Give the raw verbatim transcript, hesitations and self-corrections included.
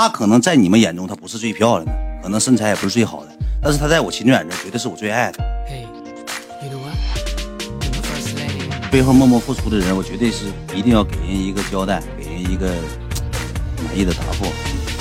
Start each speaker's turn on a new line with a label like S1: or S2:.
S1: 她可能在你们眼中她不是最漂亮的，可能身材也不是最好的，但是她在我秦远这绝对是我最爱的。背后默默付出的人，我绝对是一定要给人一个交代，给人一个满意的答复。